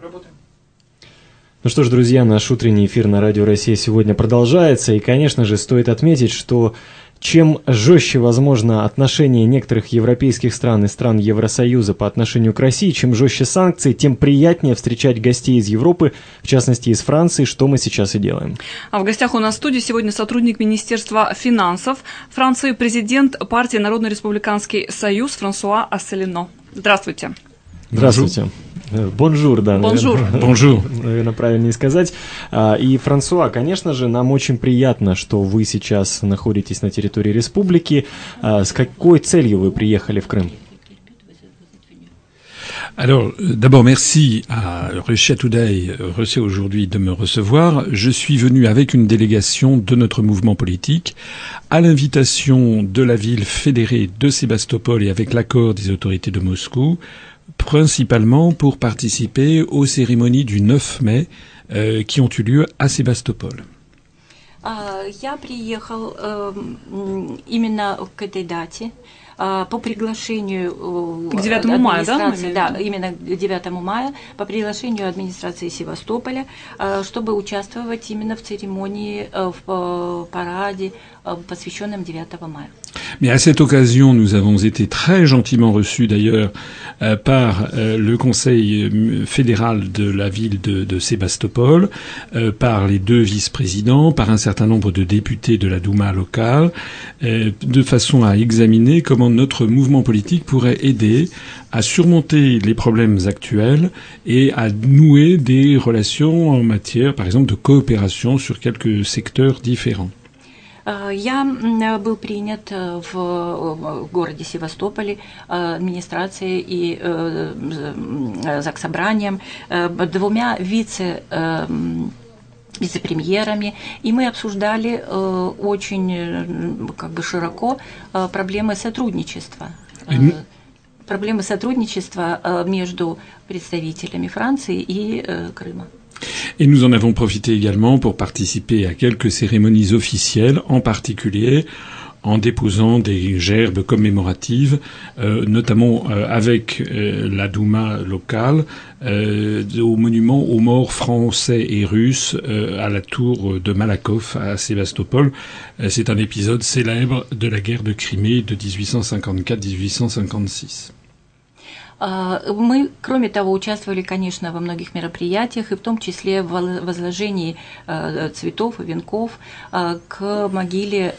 Ну что ж, друзья, наш утренний эфир на Радио Россия сегодня продолжается, и, конечно же, стоит отметить, что чем жестче, возможно, отношения некоторых европейских стран и стран Евросоюза по отношению к России, чем жестче санкции, тем приятнее встречать гостей из Европы, в частности из Франции, что мы сейчас и делаем. А в гостях у нас в студии сегодня сотрудник Министерства финансов Франции, президент партии Народно-республиканский союз Франсуа Асселино. Здравствуйте. Здравствуйте. Бонжур, да. Бонжур. Бонжур. Наверное, правильнее сказать. И, Франсуа, конечно же, нам очень приятно, что вы сейчас находитесь на территории республики. С какой целью вы приехали в Крым? Alors, d'abord, merci à Russia Today, Russia aujourd'hui, de me recevoir. Je suis venu avec une délégation de notre mouvement politique à l'invitation de la ville fédérée de Sébastopol et avec l'accord des autorités de Moscou, principalement pour participer aux cérémonies du 9 mai qui ont eu lieu à Sébastopol. Я приехал именно к этой дате по приглашению к 9 мая, да, именно к 9 мая, по приглашению администрации Севастополя, чтобы участвовать именно в церемонии, в параде, посвященном 9 мая. Mais à cette occasion, nous avons été très gentiment reçus d'ailleurs par le conseil fédéral de la ville de Sébastopol, par les deux vice-présidents, par un certain nombre de députés de la Douma locale, de façon à examiner comment notre mouvement politique pourrait aider à surmonter les problèmes actuels et à nouer des relations en matière, par exemple, de coopération sur quelques secteurs différents. Я был принят в городе Севастополе администрацией и заксобранием, двумя вице-премьерами, и мы обсуждали очень широко проблемы сотрудничества. Проблемы сотрудничества между представителями Франции и Крыма. Et nous en avons profité également pour participer à quelques cérémonies officielles, en particulier en déposant des gerbes commémoratives, notamment avec la Douma locale, au monument aux morts français et russes à la tour de Malakoff à Sébastopol. C'est un épisode célèbre de la guerre de Crimée de 1854-1856. Мы, кроме того, участвовали, конечно, во многих мероприятиях, и в том числе в возложении цветов и венков к могиле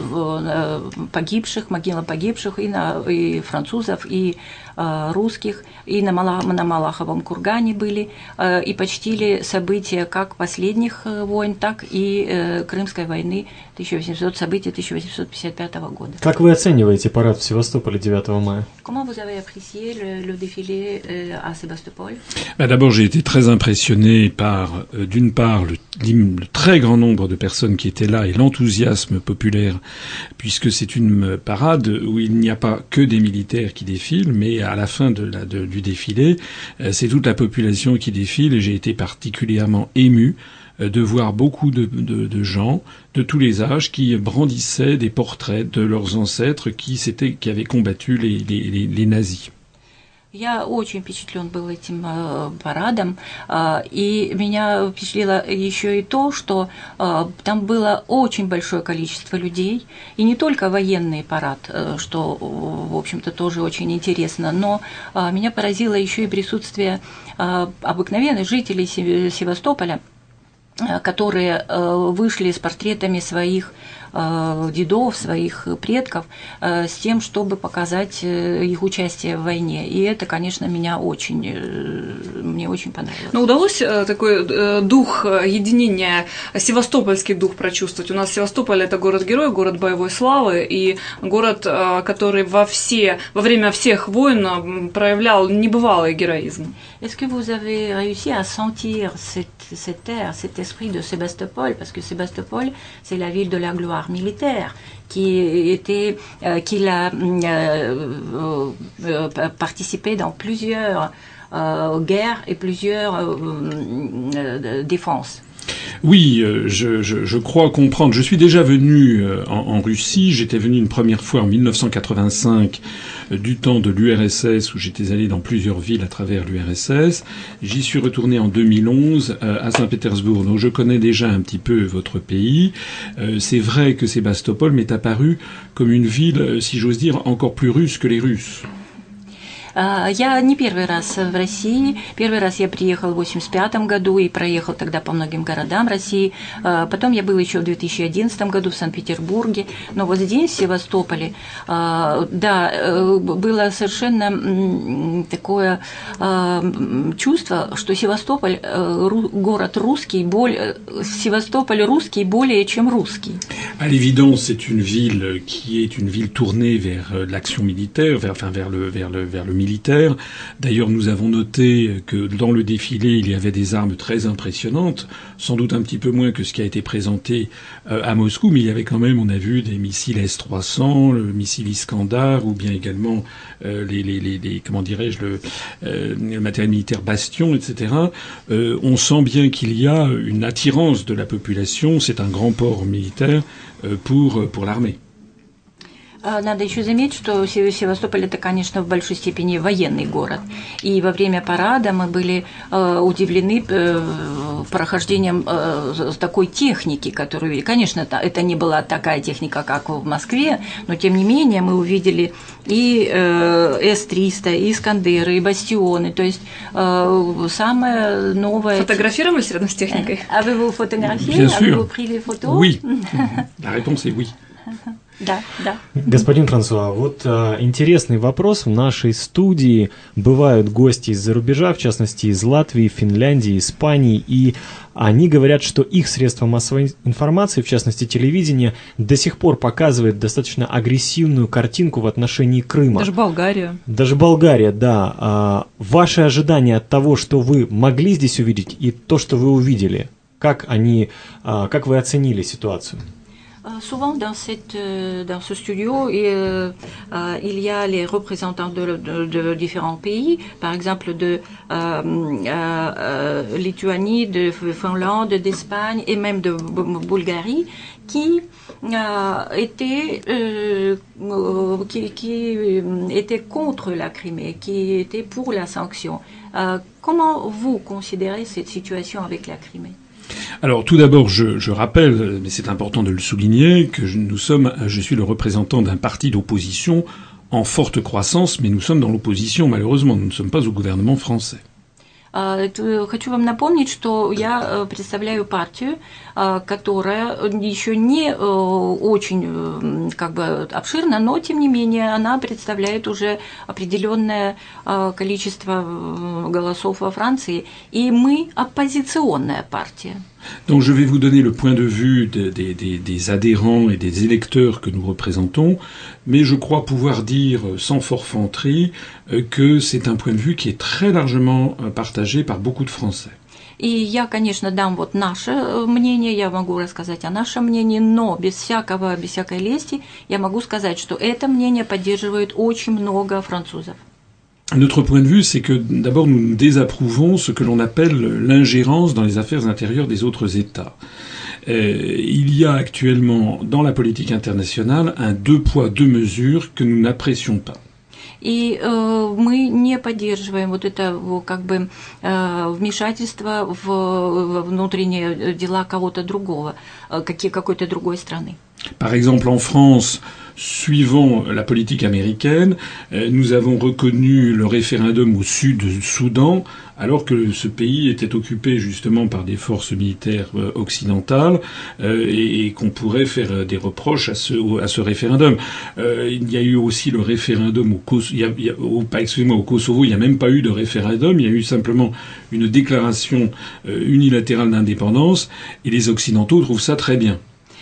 погибших, могилам погибших и французов, и русских, и на Малаховом кургане были, и почтили события как последних войн, так и Крымской войны, события 1855 года. Как вы оцениваете парад в Севастополе 9 мая? Comment vous avez apprécié le défilé à Sébastopol? D'abord, j'ai été très impressionné par, d'une part, le très grand nombre de personnes qui étaient là et l'enthousiasme populaire, puisque c'est une parade où il n'y a pas que des militaires qui défilent, mais à la fin du défilé, c'est toute la population qui défile, et j'ai été particulièrement ému de voir beaucoup de gens de tous les âges qui brandissaient des portraits de leurs ancêtres qui avaient combattu les nazis. Я очень впечатлен был этим парадом, и меня впечатлило еще и то, что там было очень большое количество людей, и не только военный парад, что, в общем-то, тоже очень интересно, но меня поразило еще и присутствие обыкновенных жителей Севастополя, которые вышли с портретами своих дедов, своих предков, с тем, чтобы показать их участие в войне. И это, конечно, мне очень понравилось. Но удалось такой дух единения, севастопольский дух прочувствовать? У нас Севастополь – это город-герой, город боевой славы, и город, который во время всех войн проявлял небывалый героизм. Est-ce que vous avez réussi à sentir cet air, cet esprit de Sébastopol? Parce que Sébastopol, c'est la ville de la gloire militaire qui a participé dans plusieurs guerres et plusieurs défenses. Oui, je crois comprendre. Je suis déjà venu en Russie. J'étais venu une première fois en 1985 du temps de l'URSS où j'étais allé dans plusieurs villes à travers l'URSS. J'y suis retourné en 2011 à Saint-Pétersbourg. Donc je connais déjà un petit peu votre pays. C'est vrai que Sébastopol m'est apparu comme une ville, si j'ose dire, encore plus russe que les Russes. Я не первый раз в России. Первый раз я приехал в 1985 году и проехал тогда по многим городам России. Потом я был еще в 2011 году в Санкт-Петербурге. Но вот здесь, в Севастополе, да, было совершенно такое чувство, что Севастополь город русский, Севастополь русский более чем русский. À l'évidence, c'est une ville qui est une ville tournée vers l'action militaire, vers le militaire. D'ailleurs, nous avons noté que dans le défilé, il y avait des armes très impressionnantes, sans doute un petit peu moins que ce qui a été présenté à Moscou, mais il y avait quand même, on a vu des missiles S-300, le missile Iskandar, ou bien également comment dirais-je, le matériel militaire Bastion, etc. On sent bien qu'il y a une attirance de la population. C'est un grand port militaire pour l'armée. Надо еще заметить, что Севастополь это, конечно, в большой степени военный город. И во время парада мы были удивлены прохождением такой техники, которую, конечно, это не была такая техника, как в Москве, но тем не менее мы увидели и С-300, и Искандеры, и Бастионы, то есть самое новое... Фотографировались рядом с техникой? А вы его фотографировали? Bien sûr. А вы приняли фото? Oui. La réponse est oui. Да, да. Господин Франсуа, вот интересный вопрос. В нашей студии бывают гости из-за рубежа, в частности из Латвии, Финляндии, Испании, и они говорят, что их средства массовой информации, в частности телевидение, до сих пор показывает достаточно агрессивную картинку в отношении Крыма. Даже Болгария. Даже Болгария, да. Ваши ожидания от того, что вы могли здесь увидеть, и то, что вы увидели, как вы оценили ситуацию? Souvent dans ce studio, il y a les représentants de différents pays, par exemple de Lituanie, de Finlande, d'Espagne et même de Bulgarie, qui étaient contre la Crimée, qui étaient pour la sanction. Comment vous considérez cette situation avec la Crimée? Alors tout d'abord, je rappelle, mais c'est important de le souligner, que je suis le représentant d'un parti d'opposition en forte croissance, mais nous sommes dans l'opposition, malheureusement, nous ne sommes pas au gouvernement français. Хочу вам напомнить, что я представляю партию, которая еще не очень обширна, но тем не менее она представляет уже определенное количество голосов во Франции, и мы оппозиционная партия. Donc je vais vous donner le point de vue des adhérents et des électeurs que nous représentons, mais je crois pouvoir dire sans forfanterie que c'est un point de vue qui est très largement partagé par beaucoup de Français. И я, конечно, дам вот наше мнение, я могу рассказать о нашем мнении, но без всякой лести я могу сказать, что это мнение поддерживает очень много французов. Notre point de vue, c'est que d'abord nous désapprouvons ce que l'on appelle l'ingérence dans les affaires intérieures des autres États. Il y a actuellement dans la politique internationale un deux poids, deux mesures que nous n'apprécions pas. И мы не поддерживаем вот это вмешательство в внутренние дела кого-то другого, какой-то другой страны. Par exemple, en France, suivant la politique américaine, nous avons reconnu le référendum au sud du Soudan, alors que ce pays était occupé justement par des forces militaires occidentales et qu'on pourrait faire des reproches à ce référendum. Il y a eu aussi le référendum au Kosovo, il n'y a même pas eu de référendum, il y a eu simplement une déclaration unilatérale d'indépendance et les Occidentaux trouvent ça très bien.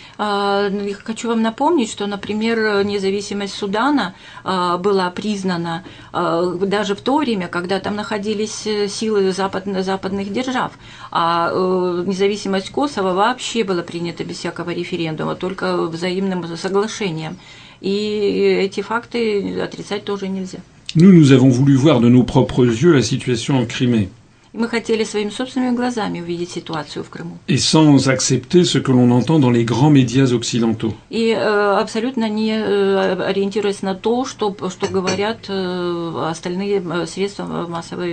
Хочу вам напомнить, что, например, независимость Судана была признана даже в то время, когда там находились силы западных держав, а независимость Косово вообще была принята без всякого референдума, только взаимным соглашением. И эти факты отрицать тоже нельзя. Nous avons voulu voir de nos propres yeux la situation en Crimée. И мы хотели своими собственными глазами увидеть ситуацию в Крыму. Et sans accepter ce que l'on entend dans les grands médias occidentaux. И абсолютно не ориентируясь на то, что говорят остальные средства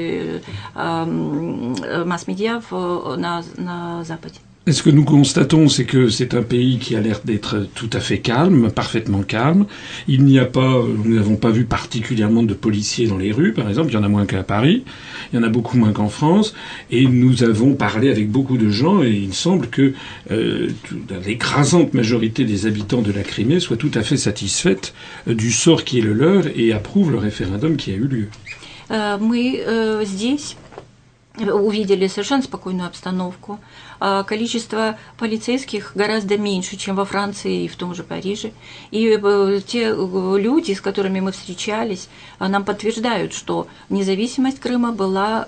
масс-медиа на Западе. Et ce que nous constatons, c'est que c'est un pays qui a l'air d'être tout à fait calme, parfaitement calme. Il n'y a pas, nous n'avons pas vu particulièrement de policiers dans les rues, par exemple. Il y en a moins qu'à Paris. Il y en a beaucoup moins qu'en France. Et nous avons parlé avec beaucoup de gens et il semble que l'écrasante majorité des habitants de la Crimée soit tout à fait satisfaite du sort qui est le leur et approuve le référendum qui a eu lieu. Мы здесь увидели совершенно спокойную обстановку. Количество полицейских гораздо меньше, чем во Франции и в том же Париже. И те люди, с которыми мы встречались, нам подтверждают, что независимость Крыма была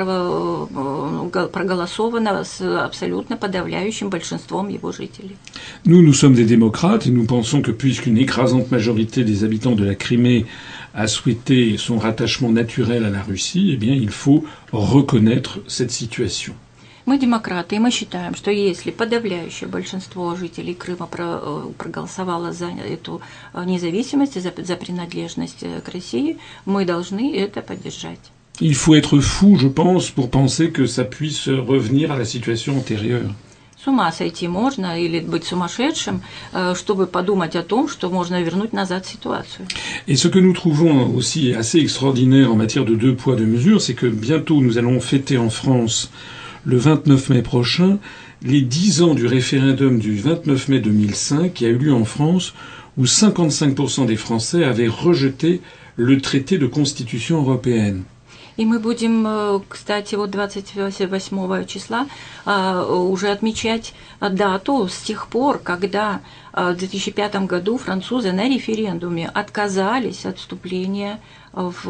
проголосована с абсолютно подавляющим большинством его жителей. Nous sommes des démocrates et nous pensons que puisqu'une écrasante majorité des habitants de la Crimée a souhaité son rattachement naturel à la Russie, eh bien, il faut reconnaître cette situation. Мы демократы, и мы считаем, что если подавляющее большинство жителей Крыма проголосовало за эту независимость, за принадлежность к России, мы должны это поддержать. Il faut être fou, je pense, pour penser que ça puisse revenir à la situation antérieure. С ума сойти можно или быть сумасшедшим, чтобы подумать о том, что можно вернуть назад ситуацию. Et ce que nous trouvons aussi assez extraordinaire en matière de deux poids, deux mesures, c'est que bientôt nous allons fêter en France, le 29 mai prochain, les 10 ans du référendum du 29 mai 2005 qui a eu lieu en France, où 55% des Français avaient rejeté le traité de constitution européenne. И мы будем, кстати, вот 28 числа уже отмечать дату с тех пор, когда в 2005 году французы на референдуме отказались от вступления в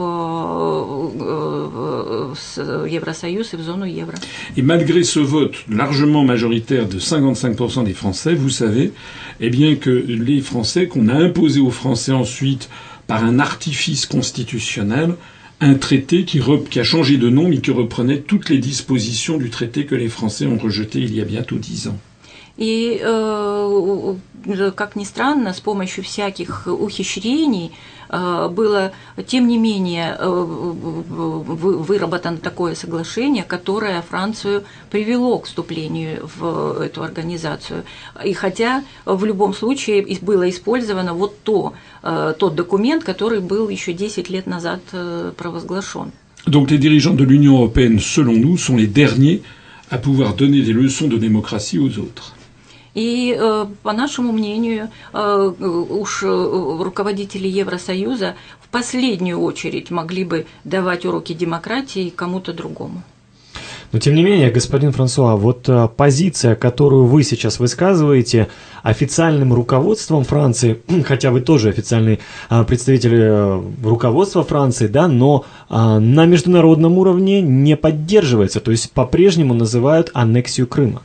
Евросоюз и в зону евро. Et malgré ce vote largement majoritaire de 55% des Français, vous savez, eh bien que les Français, qu'on a imposé aux Français ensuite par un artifice constitutionnel, un traité qui a changé de nom, mais qui reprenait toutes les dispositions du traité que les Français ont rejeté il y a bientôt 10 ans. И, как ни странно, с помощью всяких ухищрений было, тем не менее, выработано такое соглашение, которое Францию привело к вступлению в эту организацию. И хотя в любом случае было использовано вот тот документ, который был еще 10 лет назад провозглашен. Donc les dirigeants de l'Union européenne, selon nous, sont les derniers à pouvoir donner des leçons de démocratie aux autres. И, по нашему мнению, уж руководители Евросоюза в последнюю очередь могли бы давать уроки демократии кому-то другому. Но, тем не менее, господин Франсуа, вот позиция, которую вы сейчас высказываете официальным руководством Франции, хотя вы тоже официальный представитель руководства Франции, да, но на международном уровне не поддерживается, то есть по-прежнему называют аннексию Крыма.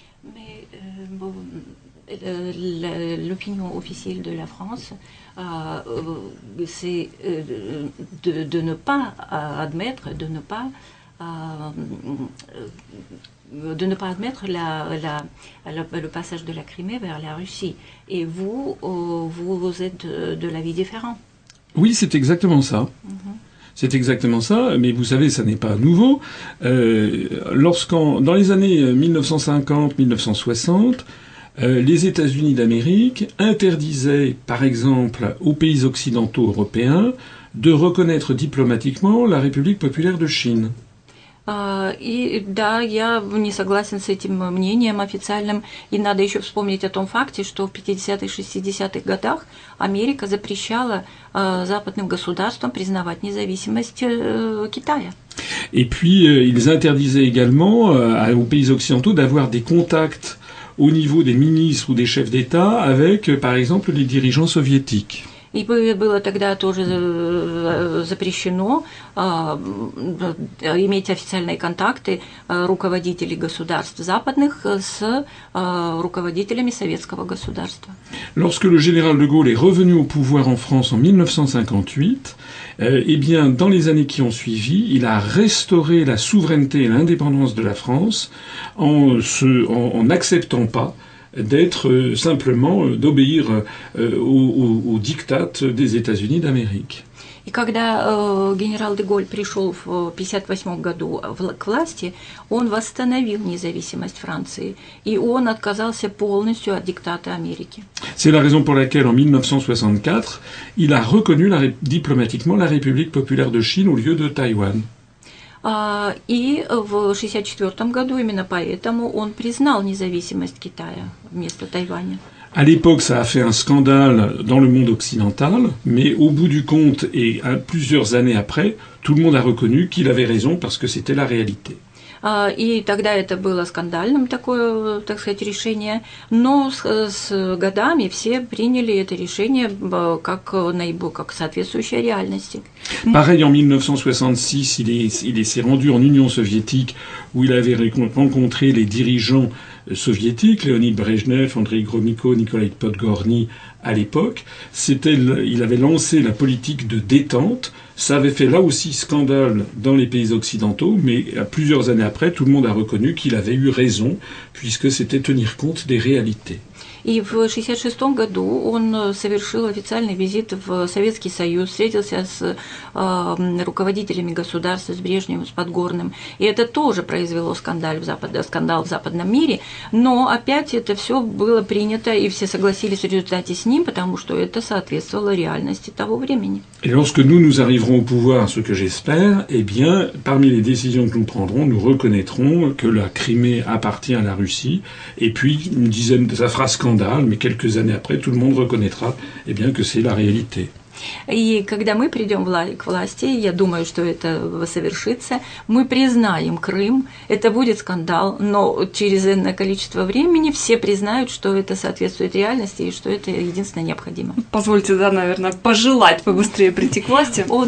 L'opinion officielle de la France, c'est de ne pas admettre, de ne pas admettre le passage de la Crimée vers la Russie. Et vous êtes de l'avis différent. Oui, c'est exactement ça. C'est exactement ça, mais vous savez, ça n'est pas nouveau. Dans les années 1950-1960, les États-Unis d'Amérique interdisaient, par exemple, aux pays occidentaux européens de reconnaître diplomatiquement la République populaire de Chine. И да, я не согласен с этим мнением официальным. И надо еще вспомнить о том факте, что в 50-х, 60-х годах Америка запрещала западным государствам признавать независимость Китая. Et puis, ils interdisaient également aux pays occidentaux d'avoir des contacts au niveau des ministres ou des chefs d'État avec, par exemple, les dirigeants soviétiques. И было тогда тоже запрещено иметь официальные контакты руководителей государств западных с руководителями советского государства. Lorsque le général de Gaulle est revenu au pouvoir en France en 1958, eh bien, dans les années qui ont suivi, il a restauré la souveraineté et l'indépendance de la France en n'acceptant pas d'être simplement d'obéir au diktat des États-Unis d'Amérique. И когда генерал де Голль пришел в 1958 году к власти, он восстановил независимость Франции, и он отказался полностью от диктата Америки. C'est la raison pour laquelle, en 1964, il a reconnu diplomatiquement la République populaire de Chine au lieu de Taïwan. И в 1964 году именно поэтому он признал независимость Китая вместо Тайваня. À l'époque, ça a fait un scandale dans le monde occidental, mais au bout du compte et plusieurs années après, tout le monde a reconnu qu'il avait raison parce que c'était la réalité. И тогда это было скандальным такое, так сказать, решение, но с годами все приняли это решение как соответствующее реальности. Pareil, en 1966, il s'est rendu en Union soviétique où il avait rencontré les dirigeants soviétiques, Léonid Brejnev, Andrei Gromyko, Nikolai Podgorny à l'époque. Il avait lancé la politique de détente. Ça avait fait là aussi scandale dans les pays occidentaux, mais plusieurs années après, tout le monde a reconnu qu'il avait eu raison, puisque c'était tenir compte des réalités. И в 1966 году он совершил официальный визит в Советский Союз, встретился с руководителями государства, с Брежневым, с Подгорным. И это тоже произвело скандал в западном мире. Но опять это все было принято, и все согласились в результате с ним, потому что это соответствовало реальности того времени. Et lorsque nous arriverons au pouvoir, ce que j'espère, eh bien, parmi les décisions que nous prendrons, nous reconnaîtrons que la Crimée appartient à la Russie. Et puis, une dizaine, ça fera scandale, mais quelques années après, tout le monde reconnaîtra eh bien, que c'est la réalité. И когда мы придем к власти, я думаю, что это совершится, мы признаем Крым, это будет скандал, но через энное количество времени все признают, что это соответствует реальности и что это единственно необходимо. Позвольте, да, наверное, пожелать побыстрее прийти к власти. Но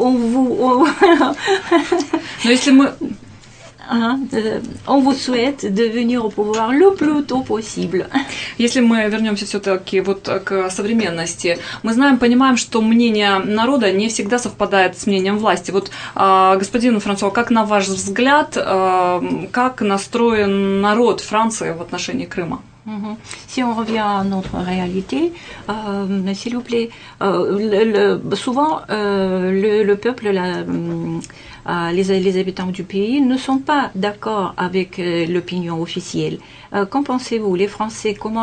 если мы... On vous souhaite de venir au pouvoir le plus tôt possible. Если мы вернемся все-таки вот к современности, мы знаем, понимаем, что мнение народа не всегда совпадает с мнением власти. Вот, господин Франсуа, как на ваш взгляд, как настроен народ Франции в отношении Крыма? Si on revient à notre réalité, s'il vous plaît, souvent le peuple, les habitants du pays ne sont pas d'accord avec l'opinion officielle. Qu'en pensez-vous, les Français, comment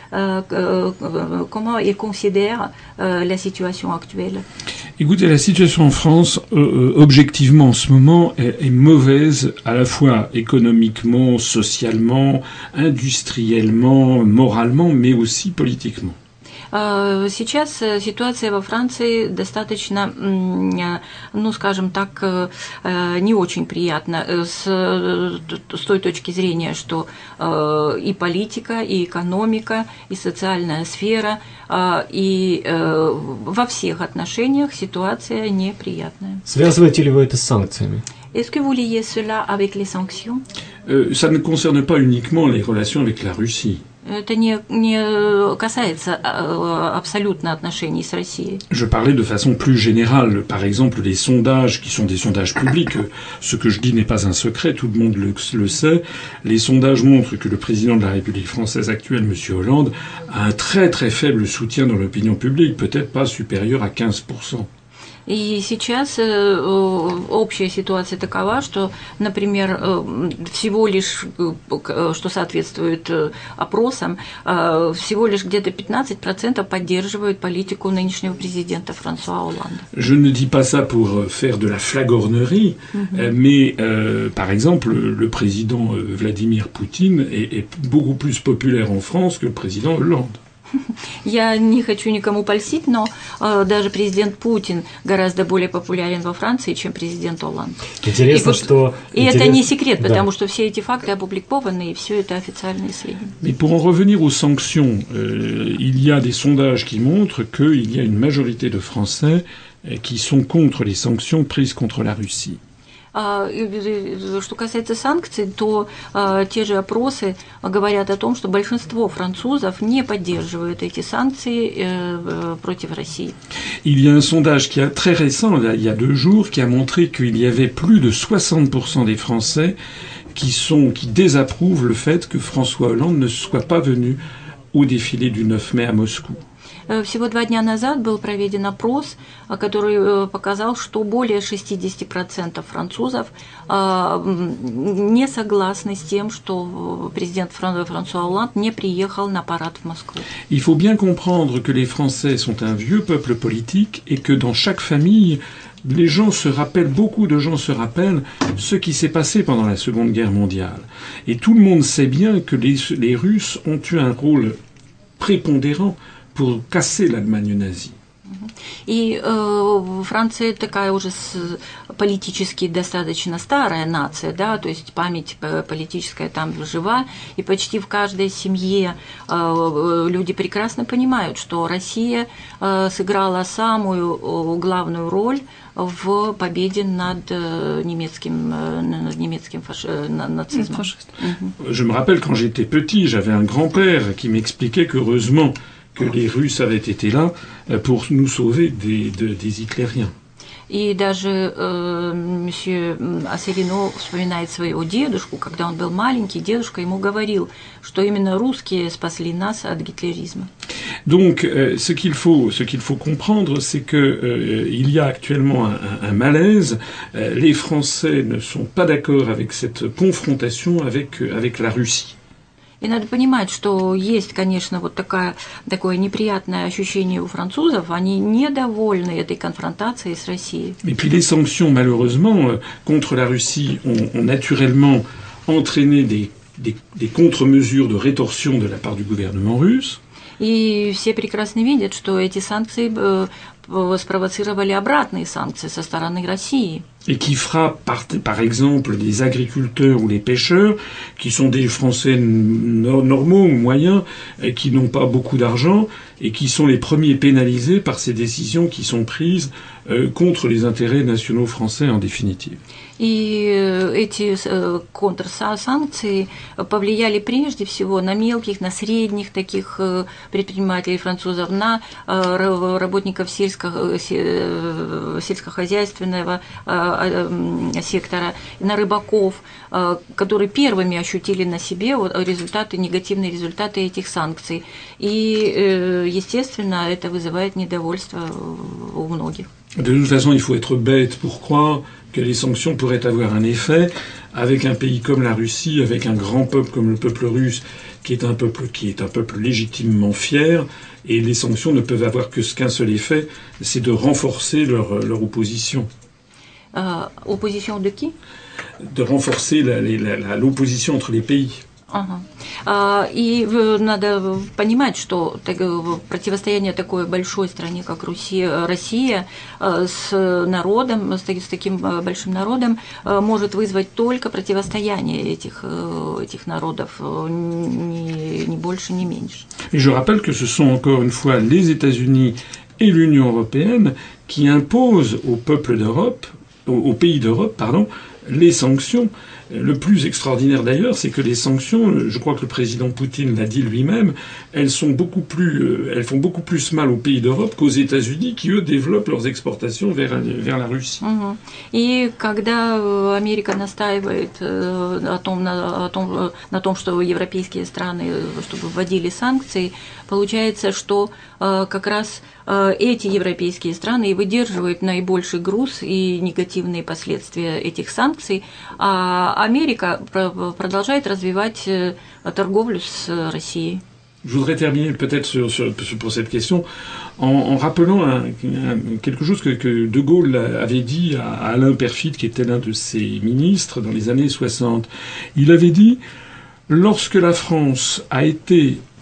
ils considèrent la situation actuelle? Écoutez, la situation en France, objectivement en ce moment, est mauvaise à la fois économiquement, socialement, industriellement, moralement, mais aussi politiquement. Сейчас ситуация во Франции достаточно, ну, скажем так, не очень приятна с той точки зрения, что и политика, и экономика, и социальная сфера, и во всех отношениях ситуация неприятная. Связываете ли вы это с санкциями? Est-ce que vous liez cela avec les sanctions? Ça ne concerne pas uniquement les relations avec la Russie. Это не касается абсолютно отношений с Россией. Je parlais de façon plus générale. Par exemple, les sondages, qui sont des sondages publics, ce que je dis n'est pas un secret, tout le monde le sait. Les sondages montrent que le président de la République française actuelle, M. Hollande, a un très très faible soutien dans l'opinion publique, peut-être pas supérieur à 15%. И сейчас общая ситуация такова, что, например, всего лишь, что соответствует опросам, всего лишь где-то 15% поддерживают политику нынешнего президента Франсуа Олланда. Je ne dis pas ça pour faire de la flagornerie, mais par exemple, le président Vladimir Poutine est beaucoup plus populaire en France que le président Hollande. Я не хочу никому польстить, но даже президент Путин гораздо более популярен во Франции, чем президент Олланд. Интересно, что... И это не секрет, потому что все эти факты опубликованы, и все это официальные сведения. Mais pour en revenir aux sanctions, il y a des sondages qui montrent qu'il y a une majorité de Français qui sont contre les sanctions prises contre la Russie. Что касается санкций, то те же опросы говорят о том, что большинство французов не поддерживают эти санкции против России. Il y a un sondage qui est très récent, là, il y a 2 jours, qui a montré qu'il y avait plus de 60% des Français qui désapprouvent le fait que François Hollande ne soit pas venu au défilé du 9 mai à Moscou. Всего 2 дня назад был проведен опрос, который показал, что более 60% французов не согласны с тем, что президент Франсуа Олланд не приехал на парад в Москву. Il faut bien comprendre que les Français sont un vieux peuple politique et que dans chaque famille, beaucoup de gens se rappellent ce qui s'est passé pendant la Seconde Guerre mondiale. Et tout le monde sait bien que les Russes ont eu un rôle prépondérant pour casser l'Allemagne nazie. И Франция такая уже политически достаточно старая нация, да, то есть память политическая там жива, и почти в каждой семье люди прекрасно понимают, что Россия сыграла самую главную роль в победе над немецким нацизмом. Je me rappelle quand j'étais petit, j'avais un grand-père qui m'expliquait qu'heureusement que les Russes avaient été là pour nous sauver des Hitlériens. И даже месье Ассelineau вспоминает своего дедушку, когда он был маленький, дедушка ему говорил, что именно русские спасли нас от гитлеризма. Donc, ce qu'il faut comprendre, c'est que il y a actuellement un malaise. Les Français ne sont pas d'accord avec cette confrontation avec la Russie. И надо понимать, что есть, конечно, вот такое неприятное ощущение у французов, они недовольны этой конфронтацией с Россией. Et puis les sanctions, malheureusement, contre la Russie ont naturellement entraîné des contre-mesures de rétorsion de la part du gouvernement russe. И все прекрасно видят, что эти санкции спровоцировали обратные санкции со стороны России. Et qui frappent par exemple les agriculteurs ou les pêcheurs, qui sont des Français normaux ou moyens, qui n'ont pas beaucoup d'argent, et qui sont les premiers pénalisés par ces décisions qui sont prises contre les intérêts nationaux français en définitive. И эти контрсанкции повлияли прежде всего на мелких, на средних таких предпринимателей французов, на работников сельскохозяйственного сектора, на рыбаков, которые первыми ощутили на себе негативные результаты этих санкций. И, естественно, это вызывает недовольство у многих. De toute façon, il faut être bête pour croire que les sanctions pourraient avoir un effet avec un pays comme la Russie, avec un grand peuple comme le peuple russe, qui est un peuple légitimement fier, et les sanctions ne peuvent avoir qu'un seul effet, c'est de renforcer leur opposition. Opposition de qui? De renforcer l'opposition entre les pays. Ага. И надо понимать, что противостояние такой большой стране, как Россия, с народом, с таким большим народом, может вызвать только противостояние этих народов, ни больше, ни меньше. Et je rappelle que ce sont encore une fois les États-Unis et l'Union européenne qui imposent aux peuples d'Europe, aux pays d'Europe, pardon, les sanctions. Le plus extraordinaire d'ailleurs, c'est que les sanctions, je crois que le président Poutine l'a dit lui-même, elles font beaucoup plus mal aux pays d'Europe qu'aux États-Unis, qui eux développent leurs exportations vers la Russie. И когда Америка настаивает на том, что европейские страны, чтобы вводили санкции, получается, что как раз эти европейские страны и выдерживают наибольший груз и негативные последствия этих санкций, а Америка продолжает развивать торговлю с Россией. Je voudrais terminer peut-être pour cette question en rappelant quelque chose que De Gaulle avait dit à Alain Peyrefitte, qui était l'un de ses ministres dans les années 60. Il avait dit « Lorsque la France a été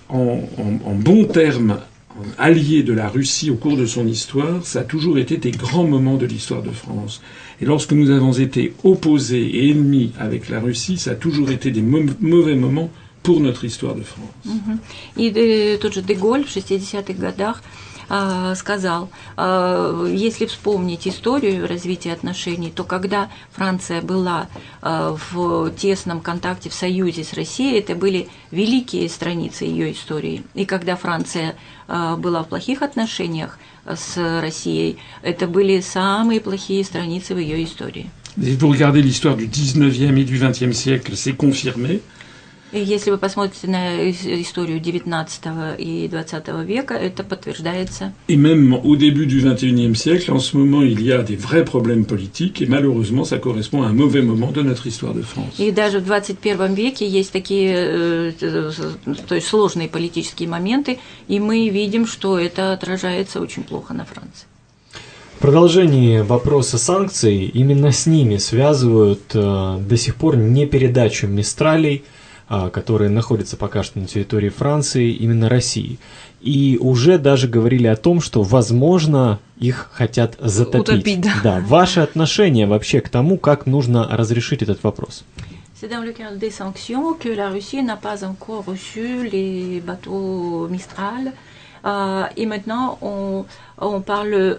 en bons termes, allié de la Russie au cours de son histoire, ça a toujours été des grands moments de l'histoire de France. Et lorsque nous avons été opposés et ennemis avec la Russie, ça a toujours été des mauvais moments pour notre histoire de France. И тот же Деголь в 60-х годах сказал, если вспомнить историю развития отношений, то когда Франция была в тесном контакте, в союзе с Россией, это были великие страницы ее истории. И когда Франция была в плохих отношениях с Россией, это были самые плохие страницы в ее истории. Si vous regardez l'histoire du 19e et du 20e siècle, c'est confirmé. И если вы посмотрите на историю XIX и XX века, это подтверждается. Et même au début du 21e siècle, en ce moment, il y a des vrais problèmes politiques, et malheureusement, ça correspond à un mauvais moment de notre histoire de France. И даже в 21 веке есть такие то есть сложные политические моменты, и мы видим, что это отражается очень плохо на Франции. В продолжении вопроса санкций, именно с ними связывают до сих пор не передачу Мистралей, которые находятся пока что на территории Франции, именно России. И уже даже говорили о том, что, возможно, их хотят затопить. Утопить, да. Да. Ваше отношение вообще к тому, как нужно разрешить этот вопрос? C'est dans le cadre des sanctions que la Russie n'a pas encore reçu les bateaux Mistral. Et maintenant, on parle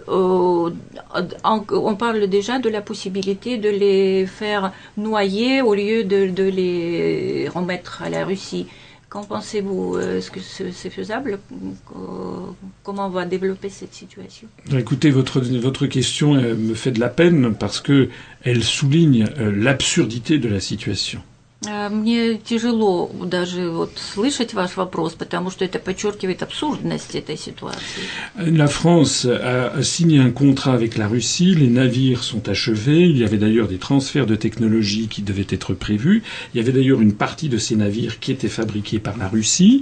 déjà de la possibilité de les faire noyer au lieu de les remettre à la Russie. Qu'en pensez-vous? Est-ce que c'est faisable? Comment on va développer cette situation? Écoutez, votre question me fait de la peine parce que elle souligne l'absurdité de la situation. Мне тяжело даже вот слышать ваш вопрос, потому что это подчеркивает абсурдность этой ситуации. La France a signé un contrat avec la Russie, les navires sont achevés, il y avait d'ailleurs des transferts de technologie qui devaient être prévus, il y avait d'ailleurs une partie de ces navires qui étaient fabriqués par la Russie.